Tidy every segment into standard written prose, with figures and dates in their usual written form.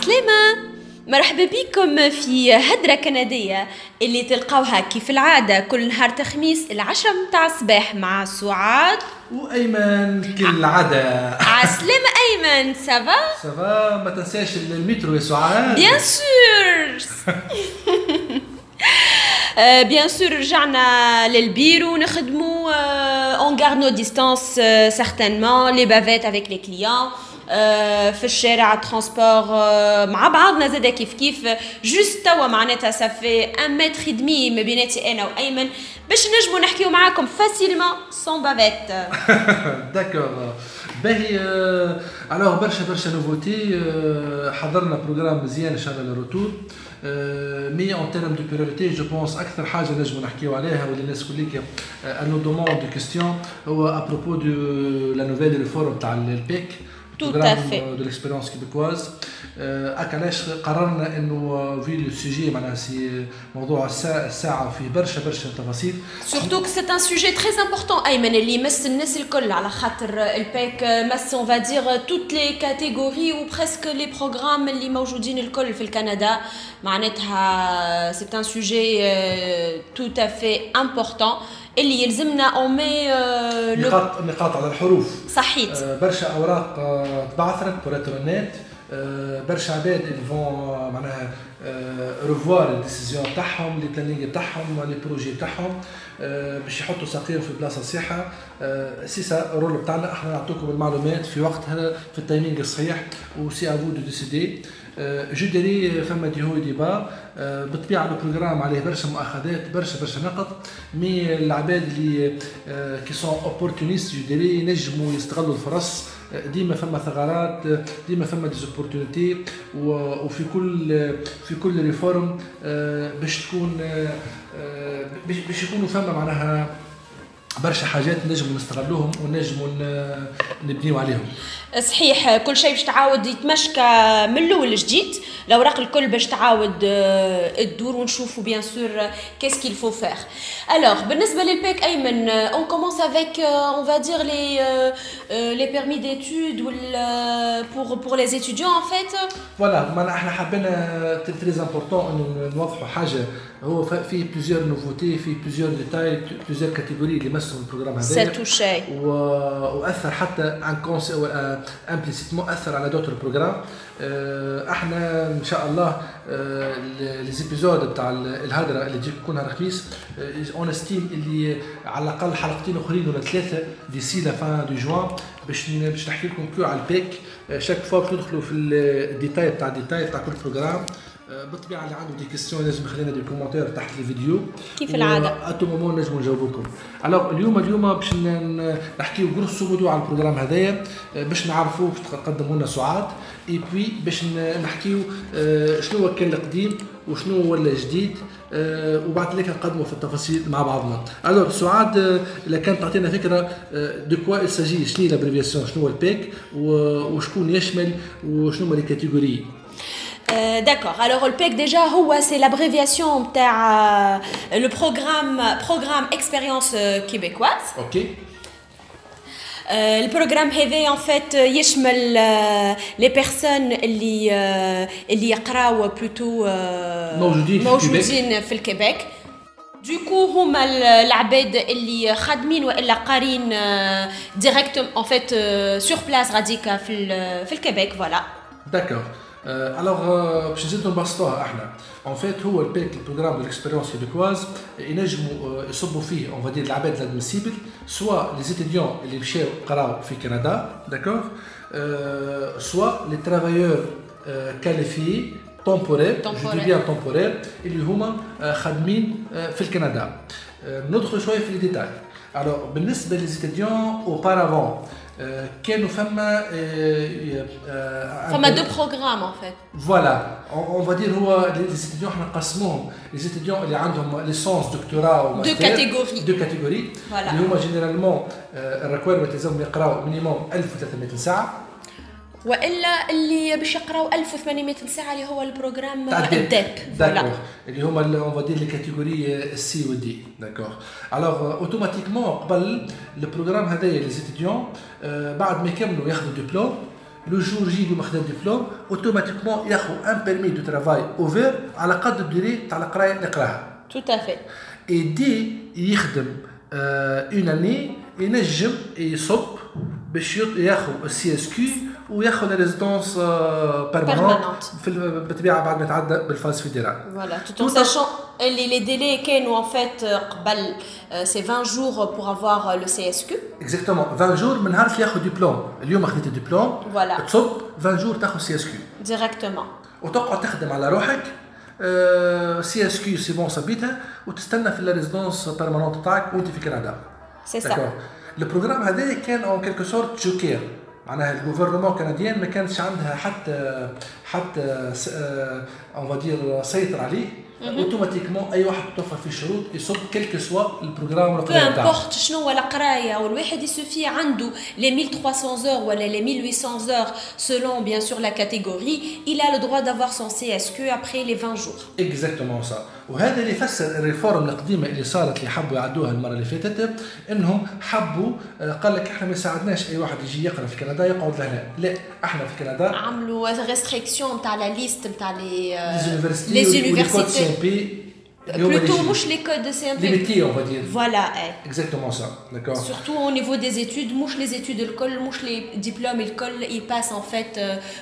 عسلامة. مرحبا بكم في هدرة كندية اللي تلقاوها كيف العادة كل نهار خميس 10 متاع الصباح مع سعاد وأيمن كالعادة. عسلامة أيمن، سافا؟ سافا، ما تنساش المترو يا سعاد. بيان سور. بيان سور رجعنا للبيرو نخدمو اون غارد نو ديستانس سيغتانمون لي بافيت افيك لي كليون في الشارع ترونسبور مع بعضنا زاده كيف جوست توا معناتها صافي 1 متر دمي ما بيناتي انا وايمن باش نجمو نحكيو معاكم فاسيلمون سون بافيت. داكور باهي. الوغ برشا نوفوتي. حضرنا بروغرام مزيان ان شاء الله للروتور. مي اون تيرم دو بريوريتي جو بونس اكثر حاجه نجمو نحكيو عليها واللي الناس كليك انو دوموند دو كيستيون هو ابروبو دو لا نوفيل ريفورم تاع البيك Tout à fait. De l'expérience québécoise. علاش قررنا انه في لو سوجي معناها سي موضوع الساعه فيه برشا تفاصيل. Surtout que c'est un sujet très important أيمن اللي يمس الناس الكل على خاطر الباك مس on va dire toutes les catégories ou presque les programmes اللي موجودين الكل في الكندا معناتها c'est un sujet tout à fait important اللي يلزمنا أومي نقاط على الحروف. صحيت. برشا أوراق تبعثرت بوريترونات. برشا عباد اللي فون معناها ريفوار الديسيزيون تاعهم لي بلانينغ تاعهم لي بروجي تاعهم باش يحطوا ساقيهم في بلاصه صحيحه. سي سا الرول بتاعنا احنا نعطيكم المعلومات في وقتها في التايمينغ الصحيح وسي افو دو ديسيدي. جو ديري فما دي هو ديبا بالطبيعه البروغرام عليه برشا مؤاخذات برشا نقط مي العباد اللي كي سون اوبورتونيست جو ديري ينجموا يستغلوا الفرص. ديما فما ثغرات ديما فما ديزوبورتونيتي وفي كل ريفورم باش تكون باش يكونوا فما معناها برشا حاجات نجموا نستغلوهم ونجموا نبنيو عليهم. صحيح كل شيء باش تعاود يتمشكى من الاول جديد الاوراق الكل باش تعاود تدور ونشوفوا بيان سور كيس كيل فو فير. الوغ بالنسبه للباك ايمن اون كومونس افيك اون فا دير لي بيرمي ديتود ولا بور لي ستوديون ان فيت. فوالا ما احنا حبينا تري امبورطون انه نوضحوا حاجه هو فيه بليزيور نوفوتي فيه بليزيور ديتاي بليزيور كاتيجوري اللي مسوا البروغرام هذا ساتوشي واثر حتى عن امبليسيتمون اثر على دوتر بروغرام. احنا ان شاء الله لي زيبيزود تاع الهدره اللي تجي كل نهار خميس اون استيم اللي على الاقل حلقتين اخرين ولا 3 ديسي لا فان دو جوان باش نحكي لكم كو على البيك. شاك فوا باش ندخلوا في الديتاي تاع كل بروغرام. بالطبيعه اللي عنده دي كيستيون لازم يخلينا دي كومونتير تحت الفيديو كيف العاده اتو مومون نجموا نجاوبوكم. الوغ اليوم باش نحكيو غروسو مودو على البروغرام هذايا باش نعرفوا باش تقدموا لنا سعاد اي بوي باش نحكيو شنو هو كان القديم وشنو ولا جديد وبعد ذلك نقدموا في التفاصيل مع بعضنا. الوغ سعاد اذا كانت تعطينا فكره دو كوا الساجي شنو لابريفياسيون شنو هو الباك وشكون يشمل وشنو هما لي كاتيجوري. D'accord. Alors le PEC déjà c'est l'abréviation de le programme expérience québécoise. OK. Le programme هذا en fait يشمل les personnes اللي يقراو plutôt موجودين في الكيبيك. Du coup هما العباد اللي خادمين والا قارين directement en fait sur place غاديكا في الكيبيك فوالا. D'accord. Alors باش نزيدو نبسطوها احنا ان فيت هو البيك البروغرام دو ليكسبيريونس كيبيكواز ينجموا يصبوا فيه اون فادير العباد الادميسيبل سوا لي زيتيديون اللي مشاو قراو في كندا داكور سوا لي ترافايور كاليفي temporaire, je dis bien temporaire, اللي هما خادمين في الكندا. ندخل شويه في الديتاي. Alors بالنسبه لي زيتيديون auparavant كانوا فما دو بروغرام ان فيت. فوالا اون فا دير هو لي زيتيديون احنا نقسموهم لي زيتيديون اللي عندهم ليسونس دكتوراه وماستر دو كاتيجوري اللي هما جينيرالمون الريكويرمنت لازم يقراو مينيموم 1300 ساعه والا اللي باش يقراو 1800 ساعه اللي هو البروغرام الداب داكور اللي هما اون فا دير لي كاتيجوري السي ودي داكور. الوغ اوتوماتيكمون قبل البروغرام هذايا لي زيتيديون بعد ما يكملوا ياخذوا دبلوم لو جور جي اللي ماخذ ديبلوم اوتوماتيكمون ياخذ ان بيرمي دو ترافاي اوفر على قد الدوري تاع القرايه اللي قراها. تو افي. اي دي يخدم اون اني ينجم يصب باش ياخذ السي اس كيو وياخذ ريزيدونس بيرمانونت بالطبيعه بعد ما يتعدى بالفاز فيدرال. فوالا tout en sachant les délais كانوا en fait قبل c'est 20 jours pour avoir le CSQ. Exactement 20 jours من نهار اللي ياخذ دبلوم. اليوم اخذت الدبلوم تصب 20 jours تاخذ سي اس كيو ديريكتومون وتقعد تخدم على روحك سي اس كيو سي بون صبيتها وتستنى في الريزيدونس بيرمانونت تاعك وانت في كندا. سي سا البروغرام هذا كان اون كيلكو سورت جوكير معناها الجوفرنمون كنديان ما كانش عندها حتى اون فادير سيطر عليه اوتوماتيكمون اي واحد توفر فيه شروط يصب كلك سوا البروغرام القرايه تاعو بورت شنو هو القرايه والواحد يسوفي عنده لي 1300 heures ولا لي 1800 heures selon bien sûr la catégorie il a le droit d'avoir son CSQ après les 20 jours. Exactement ça. وهذا اللي يفسر الريفورم القديمه اللي صارت اللي حبوا يعدوها المره اللي فاتت انهم حبوا قال لك احنا ما ساعدناش اي واحد يجي يقرا في كندا يقعد لهنا لا احنا في كندا عملوا ريستريكسيون تاع لا ليست تاع لي زونيفرسيتي plutôt مش les codes de CMP limité on va dire voilà exactement ça d'accord surtout au niveau des études مش les études l'école مش les diplômes l'école ils passent en fait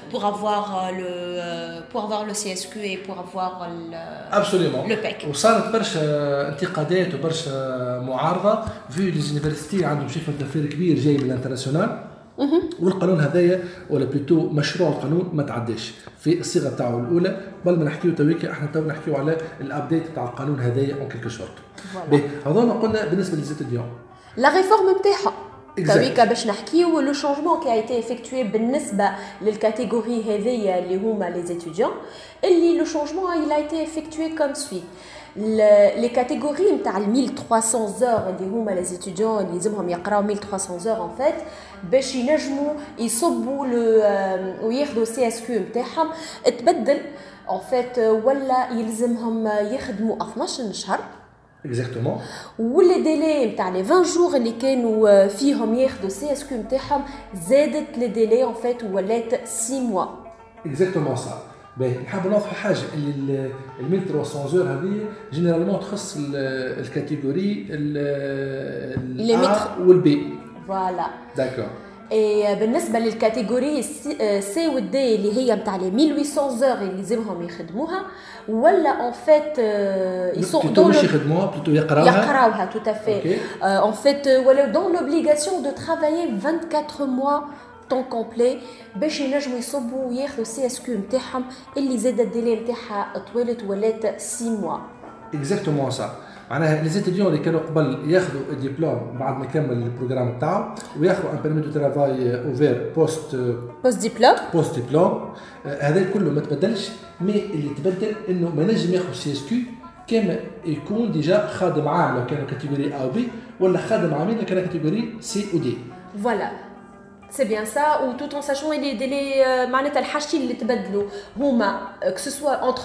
pour avoir le CSQ et pour avoir absolument le PEC وصارت برشا انتقادات وبرشا معارضه في لي زونيفرسيتي عندهم شيفر دافير كبير جاي من الانترناسيونال والقانون هذايا ولا بلوتو مشروع القانون ما تعداش في الصيغه تاعو الاولى بل ما نحكيو تويكا احنا تو نحكيو على الابديت تاع القانون هذايا اون كيلكو شورت. هذوما قلنا بالنسبه للزيتيديون لا ريفورم نتاعها تويكا باش نحكيو لو شونجمون كي ايتي افيكتوي بالنسبه للكاتيجوري هذيا اللي هما لي زيتيديون اللي لو شونجمون il a été effectué comme suit. les catégories نتاع 1300 heures اللي هما لي زيتيديون اللي لازمهم يقراو 1300 heures en fait باش ينجموا يصبوا وياخذوا سي اس كيو نتاعهم تبدل en fait ولا يلزمهم يخدموا 12 شهر اكزاكتومون واللي ديلي نتاع لي 20 جور اللي كانوا فيهم ياخذوا سي اس كيو نتاعهم زادت لي ديلي en fait ولات 6 mois اكزاكتومون صح. باهي نحب نوضح حاجه اللي ال 1300 زور هذه جينيرالمون تخص الكاتيجوري الA والبي فوالا داكور. اي بالنسبه للكاتيجوري سي والدي اللي هي نتاع لي 1800 زور اللي لازمهم يخدموها ولا ان فيت يسوقوا مش يخدموها بلوتو يقراوها تو تافي ان فيت ولا دون لوبليغاسيون دو ترافايي 24 mois طون كومبلي باش ينجموا يصبوا وياخذوا سي اس كيو نتاعهم اللي زاد الديلي نتاعها طويلت ولات 6 موا. اكزاكتومون صح. معناها لي زيتيديون اللي كانوا قبل ياخذوا الدبلوم بعد ما كمل البروغرام تاعو وياخذوا ان بيرمي دو ترافاي اوفير بوست دبلوم هذا كله ما تبدلش مي اللي تبدل انه ما نجم ياخذ سي اس كيو كما يكون ديجا خادم عام لو كانوا كاتيجوري A و B ولا خادم عامين لو كانوا كاتيجوري C و D. فوالا c'est bien ça ou tout en sachant les délais معناتها الحاجتين اللي تبدلوا هما que ce soit entre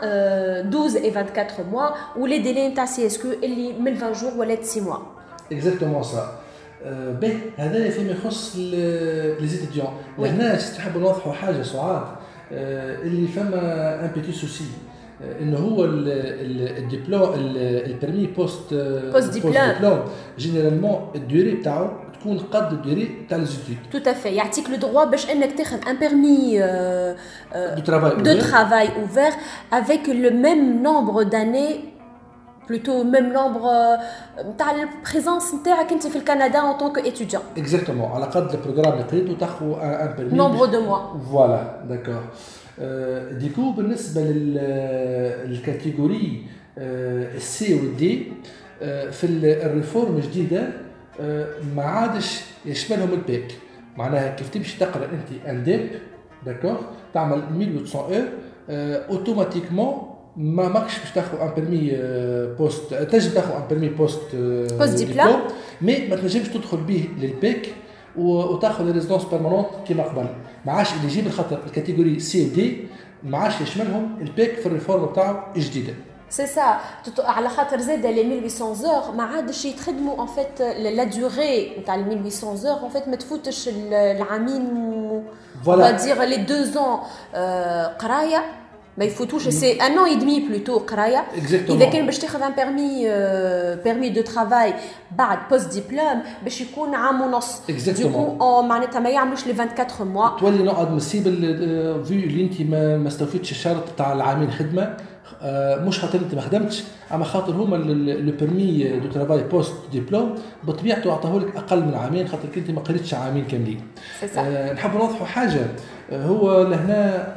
12 et 24 mois ou les délais نتاع CSQ اللي من 20 jours ولا 6 mois. exactement ça. باهي هذا فيما يخص لي زيتيديون. لهنا نحب نوضحوا حاجه سعاد اللي فما ان بيتي سوسي انه هو الدبلوم البرمي بوست دبلوم جينيرالمون الدوري تاعو تكون قد الدوري تاع ليزيتود تو افي يعطيك لو دروا باش انك تاخذ ان بيرمي دو ترافاي اوفر افيك لو ميم نومبر داني plutôt même nombre تاع البريزونس نتاعك انت في الكندا en tant que étudiant. exactement على قد البروغرام اللي قريته تاخذ ان بيرمي نومبر دو موا فوالا داكور. ديكو بالنسبه للكاتيجوري السي والدي في الريفورم الجديده ما عادش يشملهم البيك. معناها كيف تمشي تقرا انت انديب داكور تعمل 1800 اوتوماتيكمون ما ماكش باش تاخذ ان بيرمي بوست تنجم تاخذ ان بيرمي بوست ديبلوم مي ما تنجمش تدخل به للبيك وتاخذ ريزيدونس بيرمانونت كيما قبل. ما عادش اللي يجيب الخطر الكاتيجوري سي دي ما عادش يشملهم البيك في الريفورم تاعو الجديده. C'est ça. على خاطر زاد les 1800 heures ما عادش يتخدموا en fait la durée نتاع 1800 heures en fait ما تفوتش العامين on va dire les 2 ans قرايه ما يفوتوش سي ان اون اي دمي بلوتو قرايه اذا كان باش تاخذ ان بيرمي دو ترافاي بعد بوست ديبلوم باش يكون عام ونص ديكو معناتها ما يعملوش لي 24 موا تولي نوع ادمسيبل في اللي انت ما استوفيتش الشرط تاع العامين خدمه مش خاطر انت ما خدمتش اما خاطر هما لو بيرمي دو ترافاي بوست ديبلوم بطبيعته عطاهولك لك اقل من عامين خاطر انت ما قريتش عامين كاملين. نحب نوضحوا حاجه هو لهنا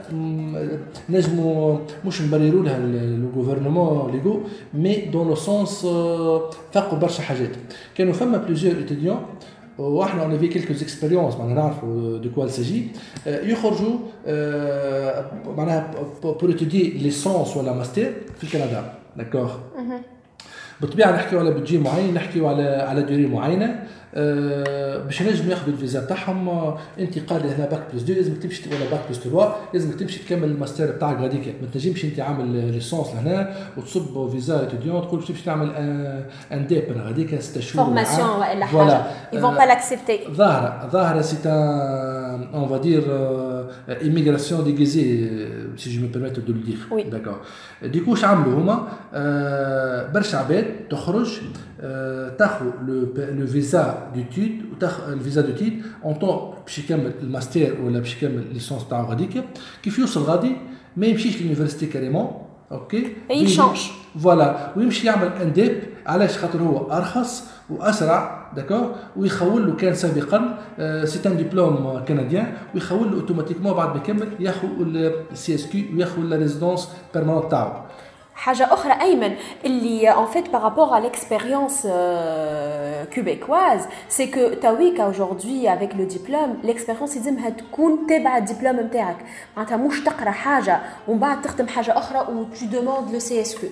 نجموا مش نبرروا لها لو غوفرنمون ليغو مي دون لو سونس فاقوا برشا حاجات. كانوا فما بليزيور ايتيديون واحنا اون في كيلكوز اكسبيريونس معناها نعرفوا دو كوا ساجي يخرجوا معناها بور اتودي ليسونس ولا ماستر في كندا داكور. بالطبيعه نحكيو على بودجي معين نحكيو على دوري معينه باش ينجموا ياخذوا الفيزا تاعهم. انت قاري هنا باك بلس 2 لازمك تمشي ولا باك بلس 3 لازمك تمشي تكمل الماستر بتاعك غاديك ما تنجمش انت عامل ليسونس لهنا وتصب فيزا اتيديون تقول باش تمشي تعمل ان دي بر غاديك 6 شهور فورماسيون ولا حاجه ils vont pas l'accepter. ظاهره سي ان on va dire immigration déguisée si je me permets de le dire. Oui. D'accord. Du coup عملوا هما برشا عباد تخرج تاخذ لو فيزا d'études وتاخذ الفيزا d'études en temps باش يكمل الماستر ولا باش يكمل ليسونس تاعو غاديك كيف يوصل غادي ما يمشيش لليونيفرسيتي كاريمون اوكي يشانج فوالا ويمشي يعمل انديب علاش خاطر هو ارخص واسرع داكور ويخول له كان سابقا سي ان ديبلوم كنديان ويخول له اوتوماتيكمون بعد ما يكمل ياخذ السي اس كيو وياخذ لا ريزيدونس بيرماننت تاعو. حاجة أخرى أيمن اللي en fait par rapport à l'expérience québécoise c'est que تاويكا aujourd'hui avec le diplôme l'expérience يلزمها تكون تابعة الدبلوم نتاعك معناتها مش تقرا حاجة ومن بعد تخدم حاجة أخرى و tu demandes le CSQ.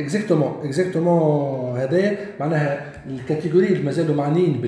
اكزاكتومون هذا معناها الكاتيجوري اللي مازالوا معنيين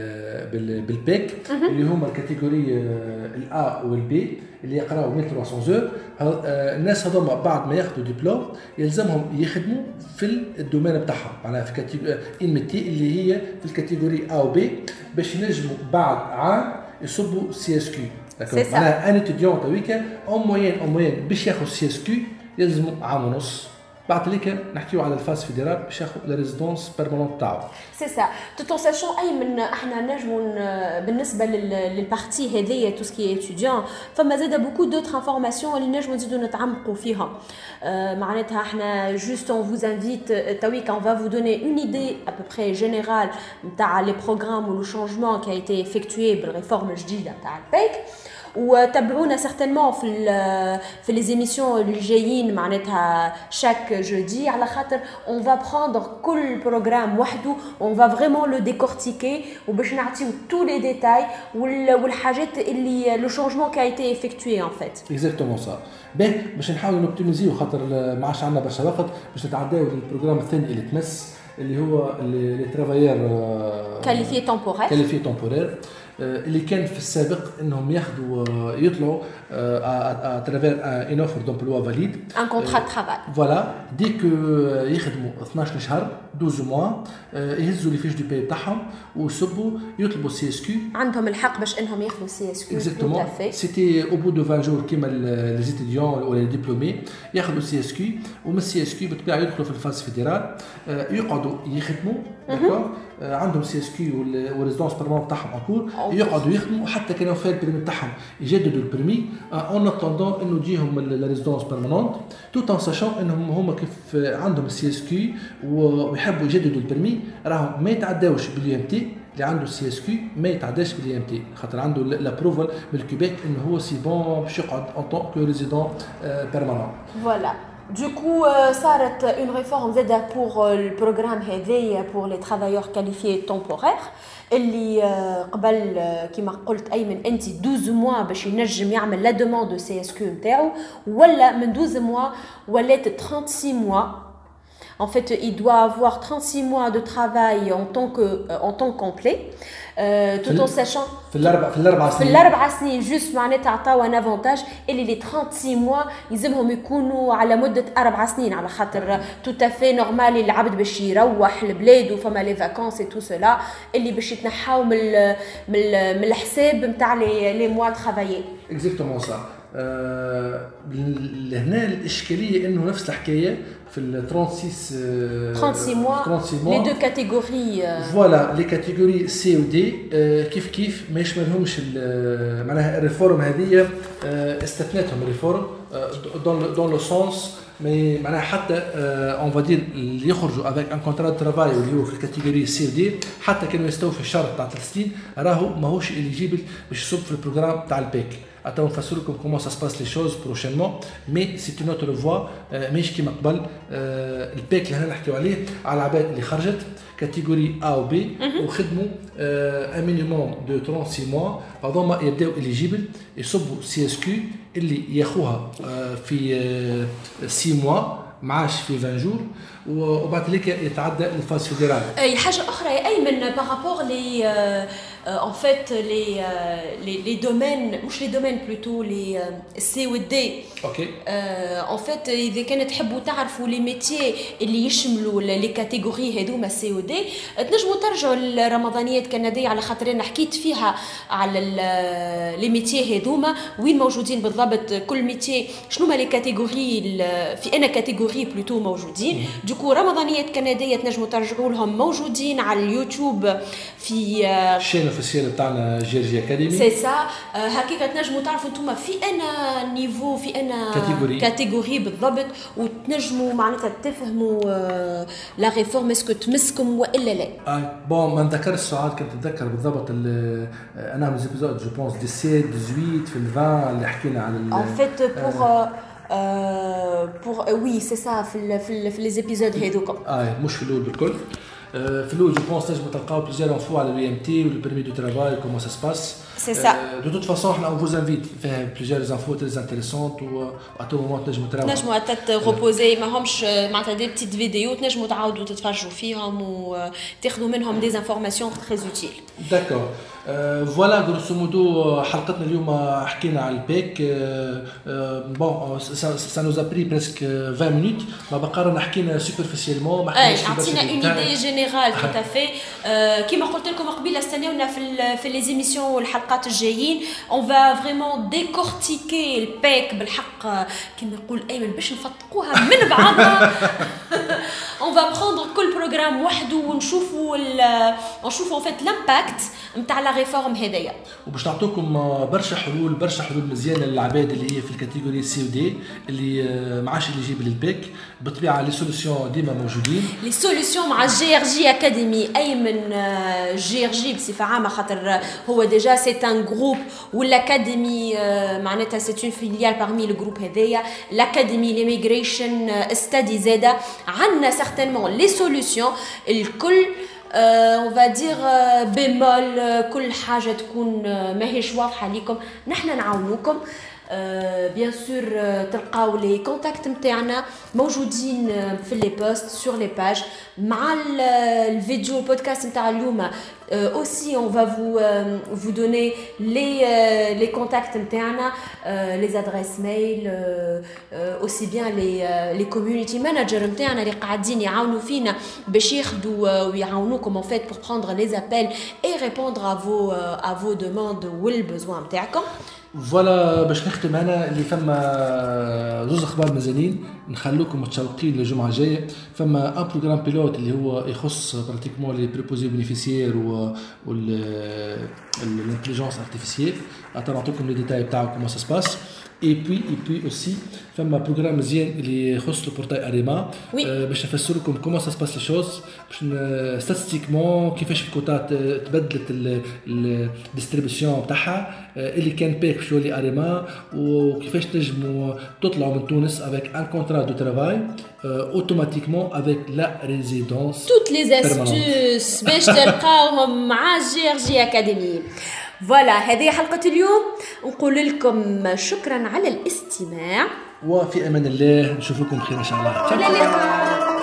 بالبيك اللي هما الكاتيجوري الا والبي اللي يقراو 1300 اور الناس هذوما بعد ما ياخذوا دبلوم يلزمهم يخدموا في الدومين بتاعهم معناها في كاتيجوري الميتي اللي هي في الكاتيجوري ا وبي باش ينجموا بعد عام يصبوا سي اس كيو. معناها ان اتيديون تويكا او موين باش ياخذ سي اس كيو يلزموا عام ونص بعد ليك نحكيو على الفاس فيدرال باش ياخذ لا ريزيدونس بيرماننت تاعو. سي سا تو ساشون ايمن احنا نجموا بالنسبه للبارتي هذيا تو سكي ايتيديون فما زاد بوكو دوتر انفورماسيون اللي نجموا نزيدوا نتعمقوا فيها معناتها احنا جوست اون فوز انفيت تويك اون فا فو دوني اون ايدي ا بو بري جينيرال نتاع لي بروغرام و لو شانجمون كي ا ايتي افيكتوي بالريفورم الجديده نتاع البيك وتابعونا certainement في les émissions اللي جايين معناتها chaque jeudi على خاطر on va prendre كل programme وحده on va vraiment le décortiquer وباش نعطيو tous les détails والحاجات اللي le changement qui a été effectué en fait. Exactement ça. باش نحاولوا نوبتيميزيو خاطر ما عادش عندنا برشا وقت باش نتعداو للبروغرام الثاني اللي تمس اللي هو لي ترافايور كاليفي تمبورير اللي كان في السابق انهم ياخذوا يطلعوا اترافير ان اوفر دومبلوا فاليد ان كونترا دو ترافاي فوالا ديك يخدموا 12 شهر 12 موا يهزوا لي فيش دو بي تاعهم ويصبوا يطلبوا سي اس كيو عندهم الحق باش انهم ياخذوا سي اس كيو. اكزاكتومون سيتي او بو دو 20 جور كيما لي ستوديون ولا لي ديبلومي ياخذوا سي اس كيو ومن السي اس كيو بالطبيعه يدخلوا في الفاز فيدرال يقعدوا يخدموا داكور عندهم سي اس كيو والريزيدونس بيرماننت تاعهم اكور يقعدوا يخدموا حتى كانوا في البريمي تاعهم يجددوا البريمي اون اتوندون انه تجيهم لا ريزيدونس بيرماننت توت ان ساشون انهم هما كيف عندهم السي اس كيو ويحبوا يجددوا البريمي راهم ما يتعداوش باليو ام تي اللي عنده السي اس كيو ما يتعداش باليو ام تي خاطر عنده لابروفال من الكيبيك انه هو سي بون باش يقعد ان طون كو ريزيدون بيرماننت. فوالا Du coup, صارت une réforme زادة pour le programme هذايا pour les travailleurs qualifiés temporaires اللي قبل كما قلت أيمن أنت 12 mois باش ينجم يعمل لا demande de CSQ نتاعو ولا من 12 mois ولات 36 mois. En fait, il doit avoir 36 mois de travail en temps complet. tout en sachant في الاربع سنين جوست معناتها عطاو ان افونتاج اللي لي 36 موا يلزمهم يكونوا على مده 4 سنين على خاطر تو تافي نورمال العبد باش يروح لبلاد وفما لي فاكونس اي تو سولا اللي باش يتنحاو من الحساب نتاع لي موا ترافايي اكزاكتومون صح. هنا الاشكاليه انه نفس الحكايه في ال 36 mois les deux catégories فوالا لي كاتيجوري سي و دي كيف ما يشملهمش معناها الريفورم هذه استثنتهم الريفورم دون لو سونس مي معناها حتى اون فادير اللي يخرجوا افيك ان كونترا دو ترافاي اللي هو في الكاتيجوري سي و دي حتى كانوا يستوفوا الشرط تاع 3 سنين راهو ماهوش اليجيبل باش يصب في البروغرام تاع البيك. Attends, on va voir comment ça se passe les choses prochainement, mais c'est une autre voie. مش كيما قبل الباك اللي هنا نحكيو عليه على العباد اللي خرجت كاتيجوري A و B وخدموا un minimum de 36 mois بعد ما يبداو إليجيبل يصبوا CSQ اللي ياخوها في 6 mois معاش في 20 جور وبعد ذلك يتعدى الفاز فيدرال. اي حاجه اخرى يا ايمن بارابور لي en fait les domaines مش les domaines plutôt les C و D. اوكي en fait اذا كانت تحبوا تعرفوا لي ميتيي اللي يشملوا لي كاتيجوري هذوما C و D تنجموا ترجعوا للرمضانيات الكنديه على خاطر انا حكيت فيها على لي ميتيي هذوما وين موجودين بالضبط كل ميتيي شنو هما لي كاتيجوري في انا كاتيجوري بلوتو موجودين. دوكو رمضانيات كنديه تنجموا ترجعوا لهم موجودين على اليوتيوب في الشين اوفيسيال بتاعنا جيرجي اكاديمي سي سا. هكاك تنجموا تعرفوا انتم في انا نيفو في انا كاتيجوري بالضبط وتنجموا معناتها تفهموا لا ريفورم اسكو تمسكم والا لا. بون ما نذكرش السؤال كنت نتذكر بالضبط انا من زيبيزود جو بونس 17 18 في ال 20 اللي حكينا على en fait pour oui c'est ça في les épisodes هذوك مش في الاول بالكل. في الاول جو بونس تنجموا تلقاو بليزيور انفو على البي ام تي ولو بيرمي دو ترافاي كومون سا سباس سي سا. دو توت فاصون حنا اون فوز انفيت فيها بليزيور انفو تري انتريسونت و ا تو مومون تنجموا تروبوزي ماهمش معناتها دي بتيت فيديو تنجموا تعاودوا تتفرجوا فيهم وتاخذوا منهم دي انفورماسيون تري اوتيل. داكور فوالا غروسو مودو حلقتنا اليوم حكينا على البيك. بون سا نوز ابري بريسك 20 مينوت ما بقى رانا حكينا سوبرفيسيالمون ما حكيناش عطينا اون ايدي جينيرال تو افي. كيما قلت لكم قبيله استناونا في لي زيميسيون والحلقات الجايين اون فا فريمون ديكورتيكي البيك بالحق كيما يقول ايمن باش نفتقوها من بعضها. اون فا بروندر كل بروغرام وحده ونشوفوا ان فيت لامباكت نتاع لا ريفورم هذيا وباش نعطيكم برشا حلول مزيانه للعباد اللي هي في الكاتيجوري سي و دي اللي معاش اللي يجيب للبيك. بالطبيعه لي سوليسيون ديما موجودين لي سوليسيون مع جي ار جي اكاديمي. ايمن جي ار جي بصفه عامه خاطر هو ديجا سي ان جروب والاكاديمي معناتها سي اون فيليال بارمي لو جروب هذايا الاكاديمي ليميغريشن ستادي زاده عندنا سيغتينمون لي سوليسيون الكل on va dire bémol كل حاجه تكون ماهيش واضحه ليكم نحن نعاونوكم. بيان سور تلقاو لي كونتاكت نتاعنا موجودين في لي بوست سور لي باج مع الفيديو البودكاست نتاع اليوم. aussi on va vous donner les contacts نتاعنا les adresses mail aussi bien les community managers نتاعنا اللي قاعدين يعاونوا فينا باش ياخذوا ويعاونوكم en fait pour prendre les appels et répondre à vos demandes والbesoin نتاعكم. فوالا باش نختم انا اللي فما زوز اخبار مازالين نخلوكم متشوقين للجمعه الجايه. فما ان بروغرام بيلوت اللي هو يخص براتيكمون لي بريبوزي بينيفيسيير والانتليجنس ارتيفيسيال. نعطيكم لي ديتاي تاعو كومون سا سباس. اي بي اوسي فما بروغرام مزيان اللي يخص البورتاي اريما باش نفسر لكم كومون سا سباس لي شوز باش ستاتستيكمون كيفاش الكوتا تبدلت الديستريبيسيون تاعها اللي كان بيك باش يولي اريما وكيفاش تنجموا تطلعوا من تونس افيك ان كونترا دو ترافاي اوتوماتيكمون افيك لا ريزيدونس. توت لي استوس باش تلقاوهم مع جي ار جي اكاديمي. فوالا هذه حلقة اليوم نقول لكم شكرا على الاستماع وفي امان الله نشوفكم بخير ان شاء الله. إلى اللقاء.